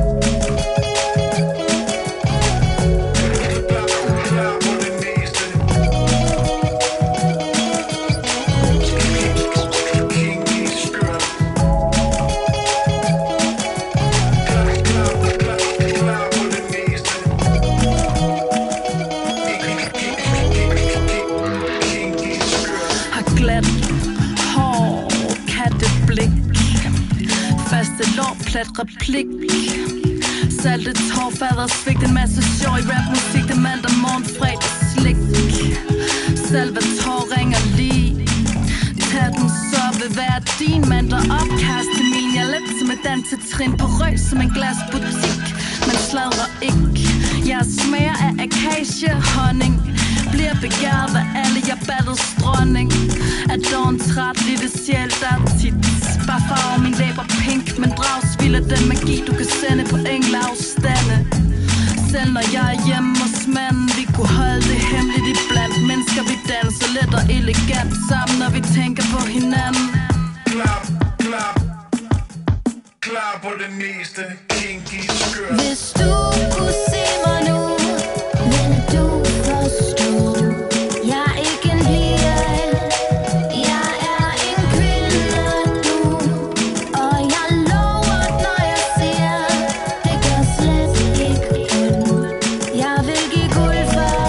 Plat replik. Saltet tår, fader svigt. En masse sjov i rapmusik. Det mandag morgen, fredag slik. Salvatore ringer lige. Tag den, så vil være din mand, der opkast til min. Jeg er lidt som med dansetrin på røg som en glasbutik. Man sladrer ikke. Jeg smager af akaciehonning. Bliver begæret af alle, jeg battles dronning. Er dog en træt lille sjæl, der er tit. Bare farve min læber pink, men dragsvild af den magi, du kan sende på engleafstande. Selv når jeg er hjemme hos manden, vi kunne holde det hemmeligt iblandt. Mennesker vi danser let og elegant sammen, når vi tænker på hinanden. Klap, klap, klar på det meste, kinky skørt. Hvis du kunne se mig nu, vil du forstå. Jeg er ikke en blier, jeg er en kvinde nu. Og jeg lover, når jeg siger, det gør slet ikke ondt. Jeg vil give guld for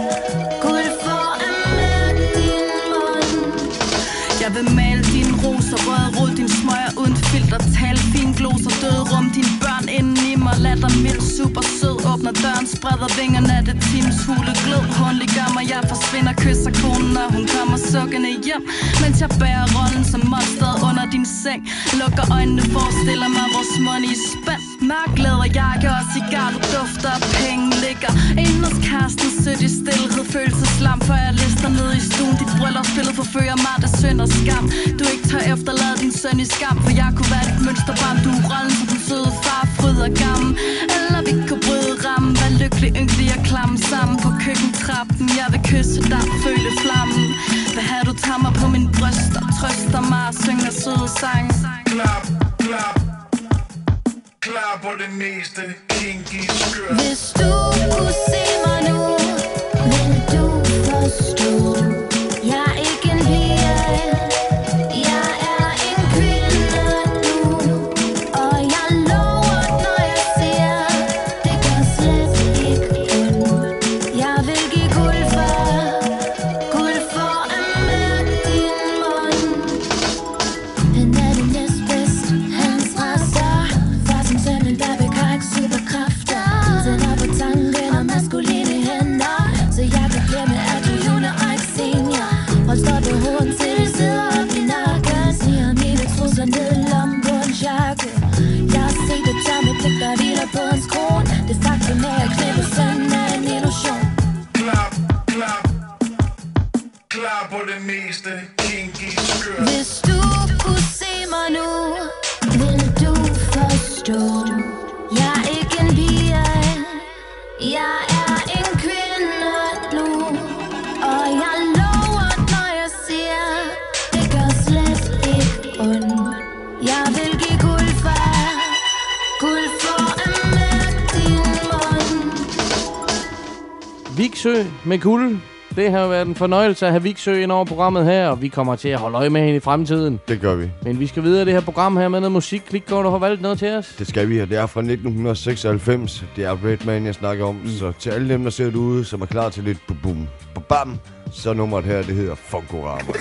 at mærke din mund. Jeg vil male dine roser, rød rod, din smøger uden filter, tal fin gloser, døde rum, dine børn inden i mig, latter mild, super sød, åbner døren, spreder vingerne af det times hule glød, håndlig gør mig, jeg forsvinder, kysser konen, når hun kommer sukkende hjem, mens jeg bærer rollen som monsteret under din seng, lukker øjnene, forestiller mig vores mund i spænd, mørk læderjakke og cigar, du dufter og penge ligger, inden hos kæresten, sødt i stillhed, følelseslam, før jeg lister ned i stuen, dit bryllupsbillede forfører mig, det synd og skam, du ikke tør efterlade din søn i skam, for jeg kunne være dit mønsterbarn, du er rollen som den søde far, fryd og gammel, eller vi kunne bryde rammen, være lykkelig, ynkelig og klamme sammen på køkkentrappen, jeg vil kysse dig, føle flammen, hvad har du tager mig på min bryst og trøster mig og synger søde sange. Klap, klap, klar på det meste, kinky skørt. Hvis du kunne se mig nu, vil du forstå. Jeg er ikke en blier, jeg er en kvinde nu. Og jeg lover, når jeg siger, det gør slet ikke ondt. Jeg vil give guld for at mærke din mund. Han er det næstbedste, hans rester. Far som sønnen, der bekar ikke superkræfter. Tænder på tanken og maskuline hænder, så jeg kan glemme, at du junior og ikke senior. Hold stop i hovedet til det sidder op i nakken. Siger mine trusler ned i lommen på en jakke. Jeg har set det tomme blik, der hviler på hans kron. Det faktum er, at knæppe sønnen er en illusion. Klap, klap, klar på det meste, kinky skørt. Hvis du kunne se mig nu, vil du forstå. Jeg er ikke en pige, jeg er en kvinde nu. Og jeg lover, når jeg siger, det gør slet ikke ondt. Jeg vil give guld for at mærke din mund. Viksø med guld. Det har været en fornøjelse at have Viksø ind over programmet her, og vi kommer til at holde øje med hende i fremtiden. Det gør vi. Men vi skal videre det her program her med noget musik. Klikgaard, du har valgt noget til os. Det skal vi, og det er fra 1996. Det er Redman, jeg snakker om. Så til alle dem, der ser det ude, som er klar til lidt bum bam, så nummeret her, det hedder Funkorama.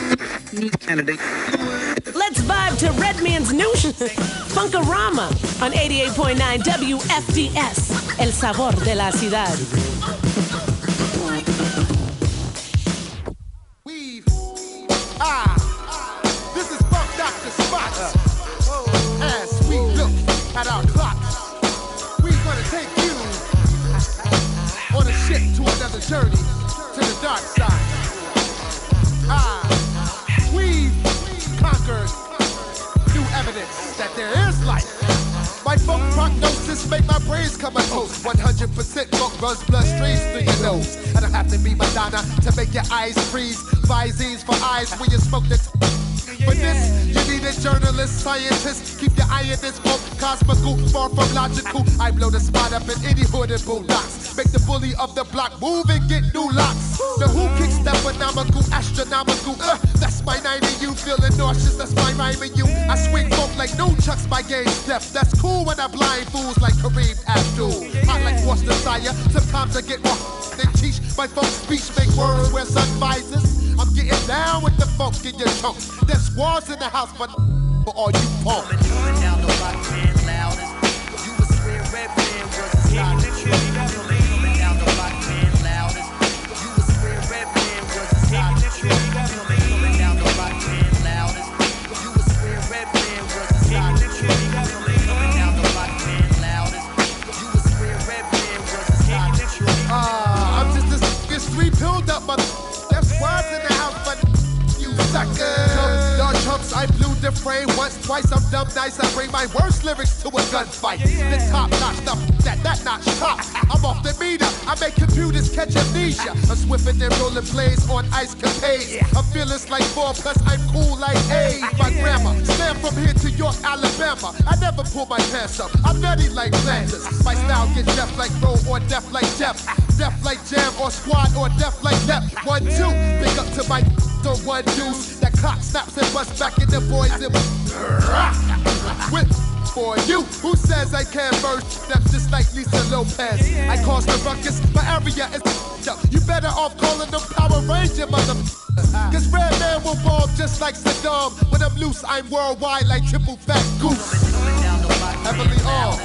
Let's vibe to Redman's new Funkorama on 88.9 WFDS. El sabor de la ciudad. This is Funk Dr. Spots. As we look at our clocks, we're gonna take you on a ship to another journey to the dark side. We've conquered new evidence that there is life. My funk prognosis make my brains come a toast. 100% funk runs bloodstreams through your nose. I don't have to be Madonna to make your eyes freeze. Visines for eyes when you smoke this. For this, you need a journalist, scientist. Keep your eye in this book, cosmical, far from logical. I blow the spot up in any hood and boondocks. Make the bully of the block move and get new locks. The who kicks the phenomenal, astronomical. That's my 90, you feeling nauseous, that's my rhyming you. I swing folk like no chucks, my game step. That's cool when I blind fools like Kareem Abdul. Hot like Worcestershire, sometimes I get more than teach. My folk speech make words wear sun visors. I'm getting down with the funk in your chunks. There's squads in the house, but for all you punks. Coming down the block, man, loudest. You would swear Redman was a stylist. Coming down the block, man, loudest. You would swear Redman was a stylist. Coming down the block, man, loudest. You would swear Redman was a stylist. the frame once, twice, I'm dumb nice. I bring my worst lyrics to a gunfight. The top notch, that notch top. I'm off the meter, I make computers catch amnesia. I'm swifter than rolling plays on ice capades. I'm fearless like 4, plus I'm cool like A. My grandma, slam from here to York, Alabama. I never pull my pants up, I'm nutty like Flanders. My style gets deaf like Roll or deaf like Jeff. Deaf like Jam or Squad or deaf like Def. 1, 2, big up to my or 1 deuce. That clock snaps and busts back in the boys and whip for you. Who says I can't burst steps just like Lisa Lopez? I cause the ruckus, my area is up. You better off calling them Power Ranger, mother. Cause Red Man will ball just like Saddam. When I'm loose, I'm worldwide like Triple Fat Goose. Heavily all.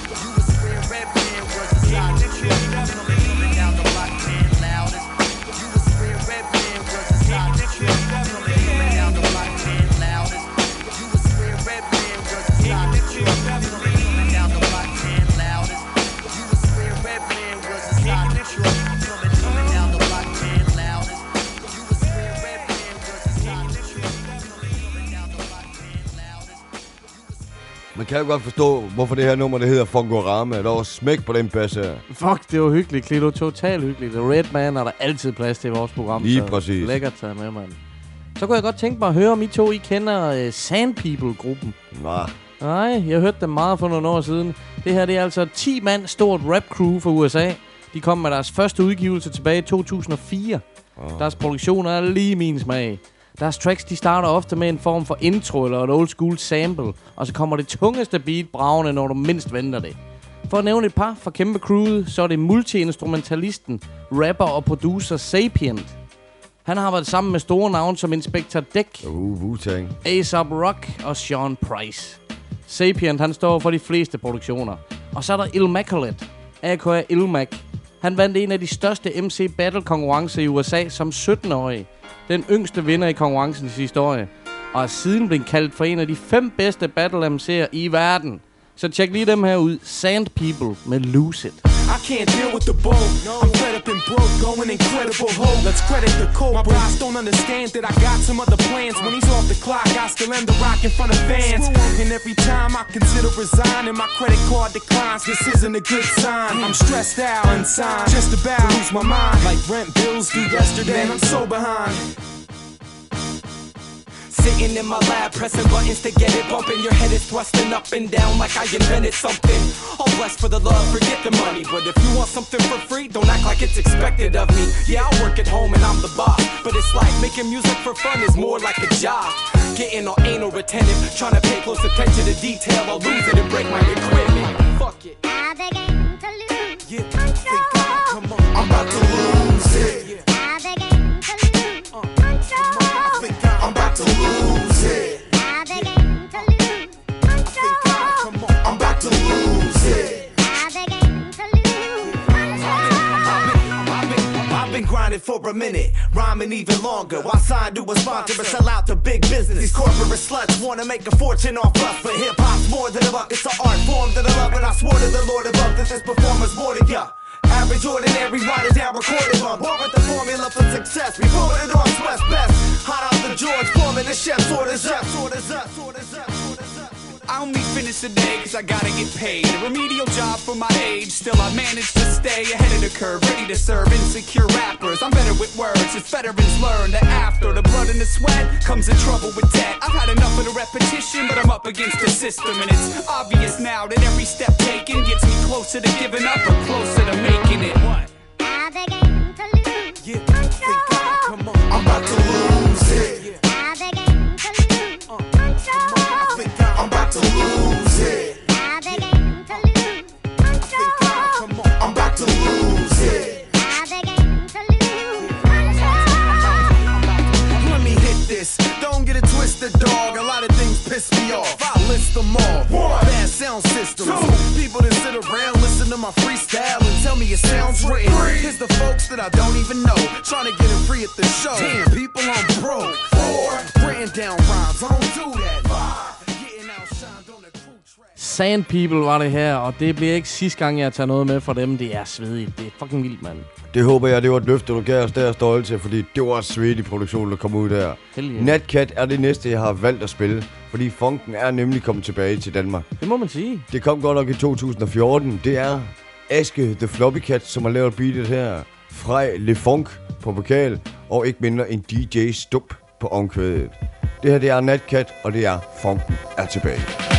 Man kan jo godt forstå, hvorfor det her nummer, det hedder Fungorama. Der var smæk på den basse her. Fuck, det var hyggeligt, Klito. Totalt hyggeligt. Red Man er der altid plads til i vores program. Lige præcis. Lækkert taget med, mand. Så kunne jeg godt tænke mig at høre, om I to, I kender Sand People-gruppen. Nej, jeg hørte dem meget for nogle år siden. Det her, det er altså 10 mand stort rap-crew fra USA. De kom med deres første udgivelse tilbage i 2004. Deres produktion er lige min smag. Deres tracks, de starter ofte med en form for intro eller et old school sample, og så kommer det tungeste beat bragende, når du mindst venter det. For at nævne et par fra kæmpe crewet, så er det multi-instrumentalisten, rapper og producer Sapient. Han har været sammen med store navne som Inspector Deck, Wu-Tang, A$AP Rock og Sean Price. Sapient, han står for de fleste produktioner. Og så er der Illmaculate, aka Illmac. Han vandt en af de største MC Battle konkurrencer i USA som 17-årig. Den yngste vinder i konkurrencens historie. Og er siden blevet kaldt for en af de 5 bedste Battle MC'er i verden. Så tjek lige dem her ud. Sand People med Lose It. I can't deal with the bull. I'm fed up and broke, going incredible hole. Let's credit the code. My boss don't understand that I got some other plans. When he's off the clock, I still end the rock in front of fans. And every time I consider resigning, my credit card declines. This isn't a good sign. I'm stressed out, unsigned, just about to lose my mind. Like rent bills due yesterday, and I'm so behind. Sitting in my lab, pressing buttons to get it bumping. Your head is thrusting up and down like I invented something. All blessed for the love, forget the money. But if you want something for free, don't act like it's expected of me. Yeah, I work at home and I'm the boss, but it's like making music for fun is more like a job. Getting all anal retentive, trying to pay close attention to detail. I'll lose it and break my equipment. Fuck it. I begin to lose control. Come on. I'm about to lose it. I begin to lose control. I'm about to lose it. I begin to lose control. I'm about to lose it. I begin to lose control. I've been grinding for a minute, rhyming even longer. While signed to a sponsor and sell out to big business. These corporate sluts wanna make a fortune off us, but hip hop's more than a buck. It's an art form that I love, and I swore to the Lord above that this performer's more than ya. Average, ordinary, write it down, record it on. Born with the formula for success. We pull it off, West best. Hot off the George Foreman, the chef, orders up, orders up, orders up, orders up. I only finish the day cause I gotta get paid. A remedial job for my age, still I manage to stay ahead of the curve, ready to serve insecure rappers. I'm better with words, as veterans learn that after the blood and the sweat comes the trouble with that. I've had enough of the repetition, but I'm up against the system. And it's obvious now that every step taken gets me closer to giving up or closer to making it. What? I begin to lose control. Come on. I'm about to lose it. I begin to lose control. I'm about to lose it. I begin to lose control. I'm about to lose it. I begin to lose control. Let me hit this. Don't get it twisted, dog. A lot of things piss me off. I'll list them all. Bad sound systems. People that sit around, listen to my freestyle and tell me it sounds written. Here's the folks that I don't even know, trying to get it free at the show. Damn, people, I'm broke. 4, written down rhymes. I don't do that. 5, getting outshined on the crew track. Sand People var det her, og det bliver ikke sidste gang, jeg tager noget med fra dem. Det er svedigt. Det er fucking vildt, mand. Det håber jeg, det var et løfte, du gav os der stolte til, fordi det var svedig produktion, der kom ud der. Heldig. Natcat er det næste, jeg har valgt at spille, fordi funken er nemlig kommet tilbage til Danmark. Det må man sige. Det kom godt nok i 2014. Det er Aske The Floppy Cat, som har lavet beatet her. Frej Le Funk på vokal, og ikke mindre en DJ Stup på omkvædet. Det her, det er Natcat, og det er funken er tilbage.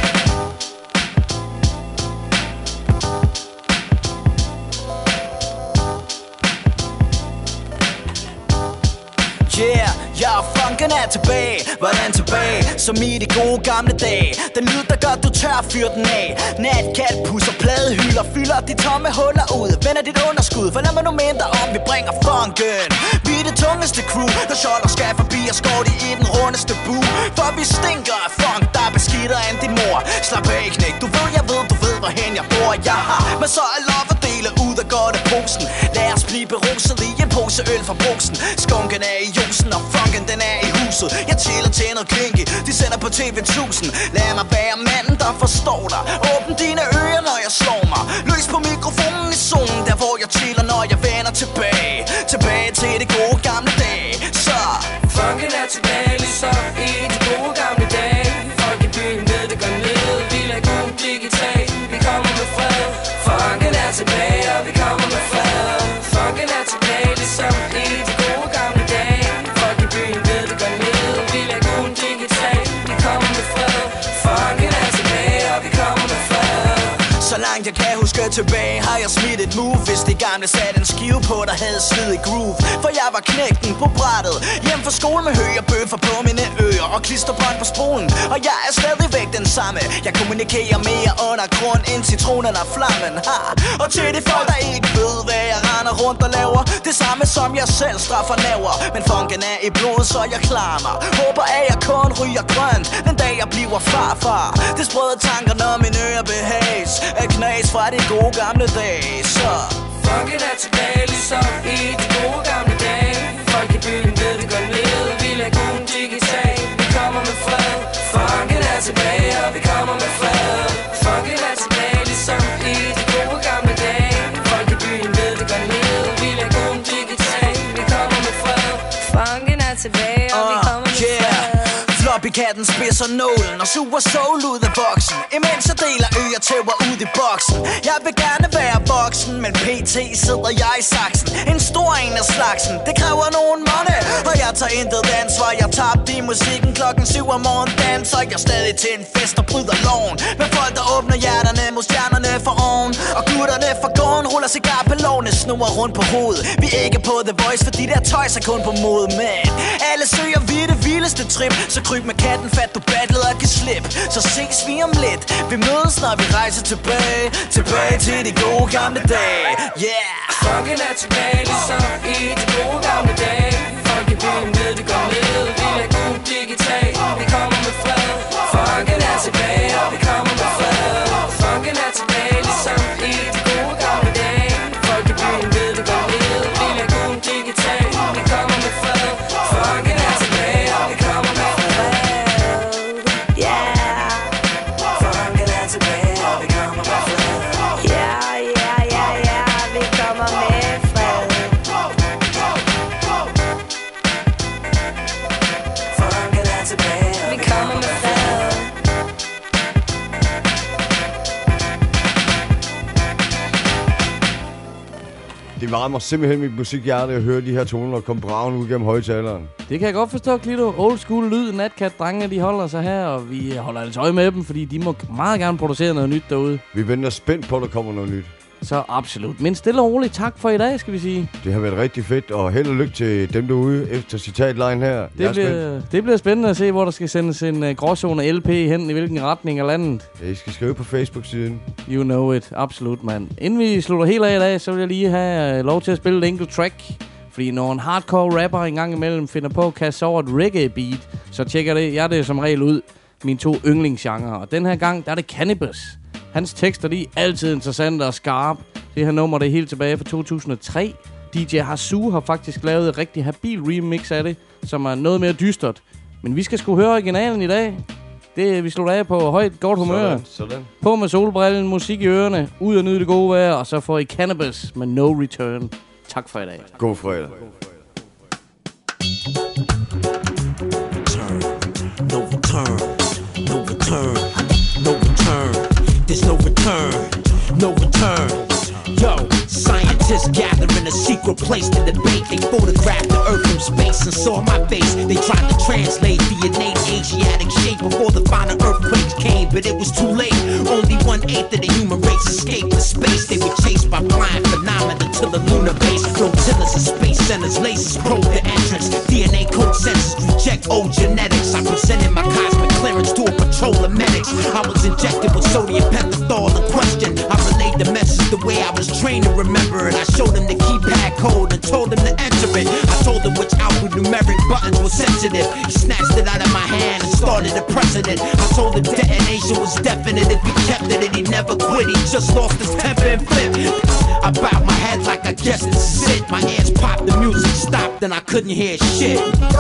Yeah, ja, funken er tilbage. Hvordan tilbage? Som i de gode gamle dage. Den lyd, der gør, du tør fyr den af. Natcat pusser pladehylder, fylder de tomme huller ud. Vender dit underskud, for lad mig nu minde dig om, vi bringer funken. Vi er det tungeste crew, der skjolder skal forbi og skår de i den rundeste bu. For vi stinker af funk, der er beskidtere end din mor. Slap af, knæk, du ved, hvorhen jeg bor. Jeg har masser af love at dele ud af godt af posen. Lad os blive beruset i en pose øl fra brugsen. Skunken er i jusen, og funken den er i huset. Jeg chiller til noget kinky, de sender på TV1000. Lad mig være manden, der forstår dig. Åbn dine ører, når jeg slår mig. Løs på mikrofonen i zonen, der hvor jeg chiller, når jeg vender tilbage. Tilbage til de gode gamle dage. Så funken er tilbage, ligesom i de gode gamle dage. Folk i byen ved det går ned, vi lader god digital. Vi kommer med fred. Funken er tilbage, og vi kommer med fred. Funken er tilbage, ligesom i de gode gamle dage. Folk i byen ved det går ned, vi lader god digital. Vi kommer med fred. Funken er tilbage, og vi kommer med fred. så langt jeg kan huske tilbage, har jeg smidt et move. Hvis det gamle satte en skive på, der havde slid i groove. For jeg var knægten på brættet, hjem fra skole med høje bøffer på mine ører og klisterbånd på spolen. Og jeg er stadigvæk den samme. Jeg kommunikerer mere under grund end citronen og flammen. Ha! Og til de folk, der ikke ved, hvad jeg render rundt og laver, det samme som jeg selv straffer næver. Men funken er i blod, så jeg klarer mig. Håber at jeg kun ryger grønt den dag jeg bliver farfar. Det sprøde tanker, når mine ører behages er knas fra de gode gamle dage. Så funken er tilbage, ligesom i de gode gamle dage. Folk i byen ved det går ned, vi lader guden digital. Vi kommer med fred. Funken er tilbage, og vi kommer med fred. Funken er tilbage, ligesom i de gode gamle dage. Folk i byen ved det går ned, vi lader guden digital. Vi kommer med fred. Funken er tilbage, og vi kommer med fred. Floppykatten spidser nålen og suger soul ud af boksen, imens jeg deler øretæver ud i boksen. Jeg vil gerne være voksen, men pt. sidder jeg i saksen. En stor en af slagsen, det kræver nogen money. Og jeg tager intet ansvar, jeg tabte i musikken klokken 7 om morgenen. Danser jeg stadig til en fest og bryder loven. Med folk der åbner hjerterne mod stjernerne for oven. Og gutterne fra gården ruller cigar på lovene, snurrer rundt på hovedet. Vi er ikke på The Voice, for de der tøjs er kun på mode. Men alle søger vi det vildeste trip, så kryb med katten fat, du battlet og kan slippe. Så ses vi om lidt, vi mødes når vi rejser tilbage. Tilbage til de gode gamle dage. Yeah! Funken er tilbage, ligesom i de gode gamle dage. Folk i byen ved det går ned, vi lader guden digital. Vi kommer med fred. Funken er tilbage, og vi kommer med fred. Funken er tilbage, ligesom i de gode gamle dage. Folk i byen ved det går ned, vi lader guden digital. Vi kommer med fred. Funken er tilbage, og vi kommer med fred. Yeah! Funken er tilbage, og vi kommer med fred. Yeah, yeah, yeah, yeah, vi kommer med fred. Funken er tilbage, og vi kommer med fred. Det varmer simpelthen mit musikhjerte at høre de her toner komme braven ud gennem højtaleren. Det kan jeg godt forstå, Klito. Old school lyd, Natcat-drengene, de holder sig her, og vi holder altså øje med dem, fordi de må meget gerne producere noget nyt derude. Vi venter spændt på, at der kommer noget nyt. Så absolut. Men stille og roligt, tak for i dag, skal vi sige. Det har været rigtig fedt, og held og lykke til dem derude efter citatline her. Det bliver spændende at se, hvor der skal sendes en gråzone LP hen, i hvilken retning af landet. Ja, I skal skrive på Facebook-siden. You know it. Absolut, mand. Inden vi slutter helt af i dag, så vil jeg lige have lov til at spille et enkelt track. Fordi når en hardcore rapper en gang imellem finder på at kaste over et reggae-beat, så tjekker jeg det som regel ud. Mine to yndlingsgenrer. Og den her gang, der er det Cannabis. Hans tekster, de er altid interessante og skarpe. Det her nummer, det er helt tilbage fra 2003. DJ Hasu har faktisk lavet et rigtig habil remix af det, som er noget mere dystert. Men vi skal sgu høre originalen i dag. Vi slutter af på højt, godt humør. Sådan. På med solbrillen, musik i ørerne, ud og nyde det gode vejr, og så får I Cannabis med No Return. Tak for i dag. God fredag. No return, no return, no return. There's no return, no return. Yo, scientists gather in a secret place to debate. They photographed the earth from space and saw my face. They tried to translate the innate Asiatic shape before the final earthquakes came, but it was too late. Only 1/8 of the human race escaped to space. They were chased by flying phenomena to the lunar base. Flotillas and space centers, lasers probe the entrance. DNA code sensors reject old genetics. I presented my cosmic clearance to a patrol of medics. I was injected with sodium pentothal. The question, I relayed the message the way I was trained to remember it. I showed them the keypad code and told them to enter it. I told them which alphanumeric buttons were sensitive. He snatched it out of my hand and started a precedent. I told him detonation was definite. If he kept it and he never quit, he just lost his temper and flipped. I bowed my head like I guess this is it. My ears popped, the music stopped, and I couldn't hear shit.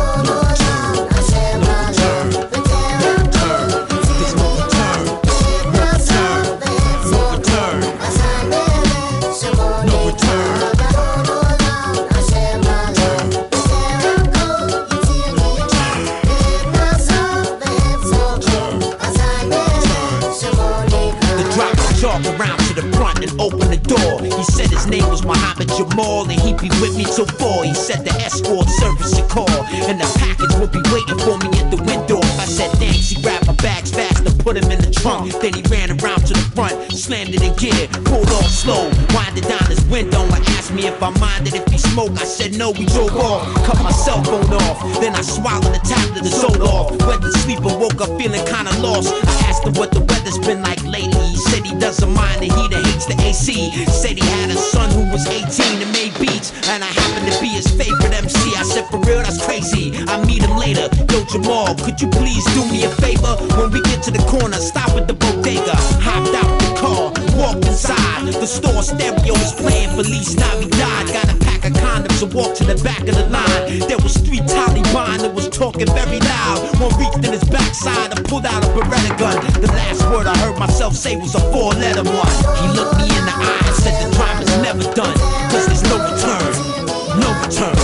Around to the front and open the door. He said his name was Muhammad Jamal and he'd be with me till 4. He said the escort service should call and the package would be waiting for me at the window. I said thanks, he grabbed my bags fast and put him in the trunk. Then he ran around to the front, slammed it in gear, pulled off slow, winded down his window and asked me if I minded if he smoked. I said no, we drove off, cut my cell phone off. Then I swallowed the tablet and sold off. Went to sleep and woke up feeling kinda lost. I asked him what the weather's been like lately. He said he doesn't mind the heat and hates the AC. Said he had a son who was 18 and made beats, and I happened to be his favorite MC. I said for real, that's crazy. I'll meet him later. Yo Jamal, could you please do me a favor? When we get to the corner, stop at the bodega. Hopped out the car, walked inside. The store stereo was playing Feliz Navidad. Got a pack of condoms and walked to the back of the line. There was 3 Taliban that was talking very loud. One reached in his backside and pulled out a Beretta gun. The last word I heard myself say was a 4-letter one. He looked me in the eye and said the crime is never done, cause there's no return, no return.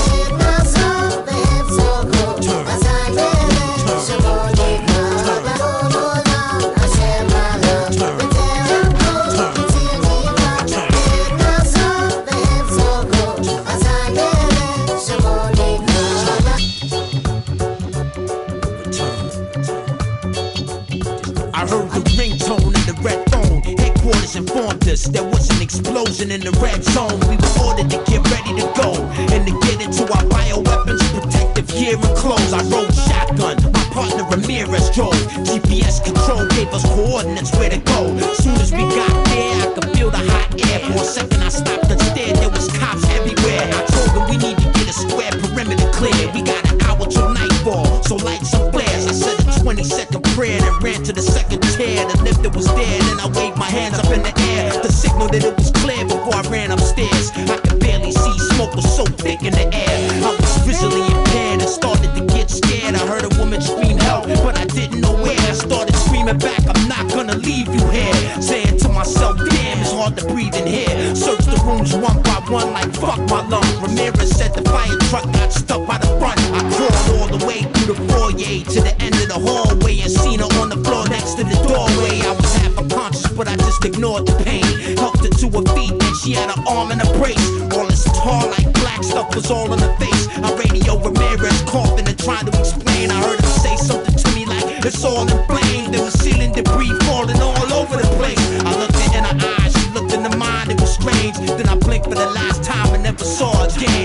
I heard the ringtone in the red phone. Headquarters informed us there was an explosion in the red zone. We were ordered to get ready to go and to get into our bioweapons, protective gear and clothes. I rode shotgun, my partner Ramirez drove. GPS control gave us coordinates where to go. Soon as we got there, I could feel the hot air. For a second I stopped and stared, there was cops everywhere. I told them we need to get a square perimeter clear. We got an hour till nightfall, so light some flares. I said a 20-second prayer and ran to the second tier. The lifter was there, then I waved my hands up in the air to signal that it was clear before I ran upstairs. I could barely see, smoke was so thick in the air. I was visually impaired and started to get scared. I heard a woman scream help, but I didn't know where. I started screaming back, I'm not gonna leave you here. Saying to myself, damn, it's hard to breathe in here. Searched the rooms one by one like fuck my lungs. Ramirez said the fire truck got stuck by the front. I crawled all the way through the foyer to the end of the hallway and seen her on the floor next to the doorway. I was half unconscious, but I just ignored the pain. Helped her to her feet, and she had an arm in a brace. All this tar like black stuff was all on her face. I radio Ramirez coughing and trying to explain. I heard him say something to me like it's all in flames. There was ceiling debris falling all over the place. I looked her in her eyes, she looked into mine. It was strange. Then I blinked for the last time and never saw her again.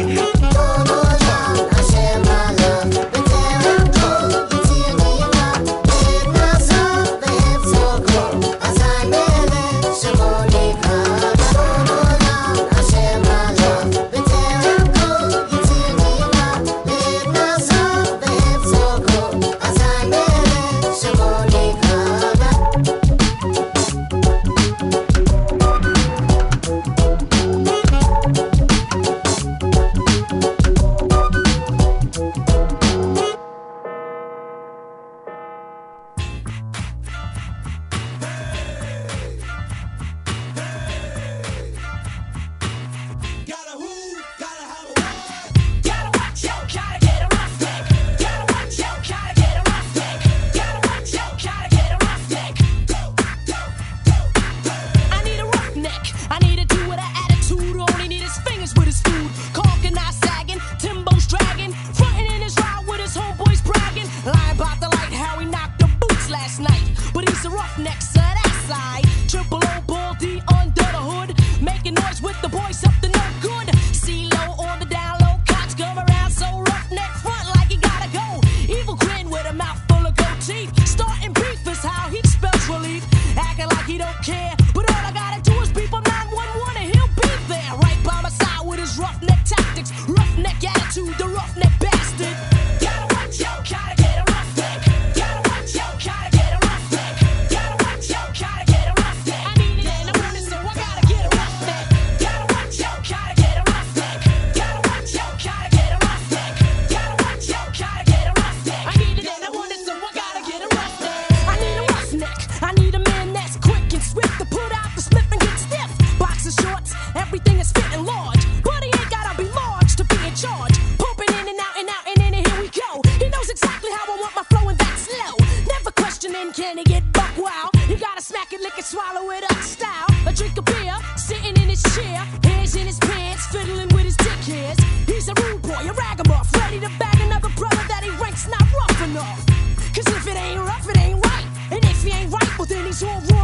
but he's a roughneck, so that's side. Triple O Bull D under the hood, making noise with the boys up to no good. C-Lo on the down low, cops come around so roughneck front like he gotta go. Evil grin with a mouth full of gold teeth. Starting beef is how he spells relief. Acting like he don't care, but all I gotta do is beep on 911 and he'll be there. Right by my side with his roughneck tactics, roughneck attitude, the roughneck bastard. Gotta watch out, gotta get a roughneck. Gotta watch out, gotta get a roughneck. Gotta watch out, gotta get a roughneck. I need it and I want it, so I gotta get a roughneck. Gotta watch out, gotta get a roughneck. Gotta watch out, gotta get a roughneck. Gotta watch out, gotta get a roughneck. I need it and I want it, so I gotta get a roughneck. I need a roughneck. I need a man that's quick and swift to put out the slip and get stiff. Boxer shorts, everything is fitting large, but he ain't gotta be large to be in charge. Pumping in and out and out and in and here we go. He knows exactly how I want my flow and that's slow. Never questioning, can he get buck wild? You gotta smack it, lick it, swallow it up style. A drink of beer, sitting in his chair, hands in his pants, fiddling with his dick hairs. He's a rude boy, a ragamuff, ready to bag another brother that he ranks not rough enough. Cause if it ain't rough, it ain't right. And if he ain't right, well then he's all wrong.